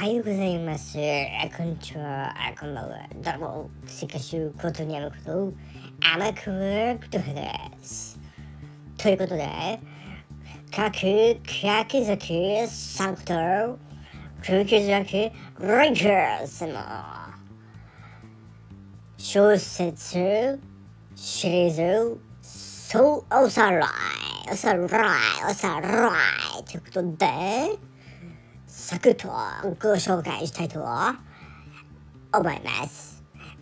ようございます。こんにちは。こんばんは。どうも、せかしゅうことにゃむこと、甘くことです。ということで、柿崎さんこと、柿崎レイカーズの小説シリーズ、おさらいということで、サクッとご紹介したいと思います。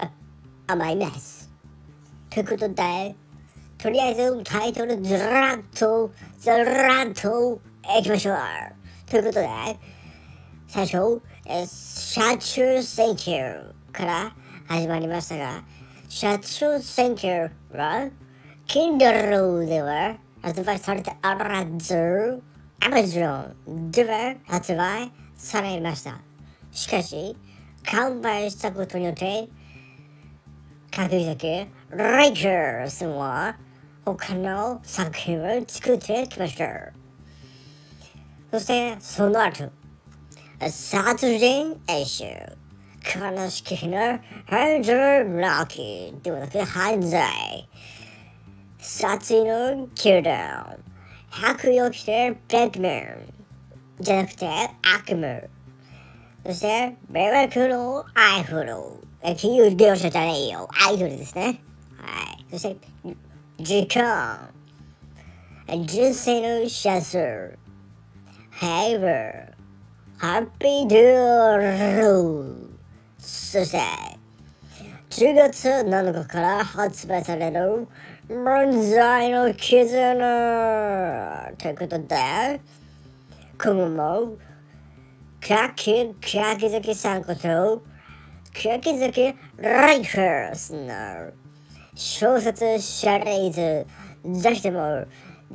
ということで、とりあえずタイトルずらっといきましょう。ということで、最初、車中選挙から始まりましたが、車中選挙は Kindle では発売されておらず、Amazon では発売されました。しかし、完売したことによって、柿崎レイカーズは他の作品を作ってきました。そしてその後、殺人演習、悲しき日の犯罪ラッキーではなく犯罪、殺意の宮殿、白衣を着てベックマンじゃなくて悪夢、そして迷惑のアイドル、金融業者じゃねえよ、アイドルですね。はい。そして時間、人生のシャツ、ヘイバー、ハッピードゥー、そして10月7日から発売される漫才の絆ということで、今後も柿崎さんこと柿崎レイカーズの小説シリーズ、ぜひともよ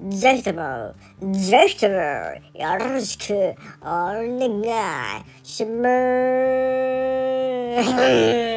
ろしくお願いします。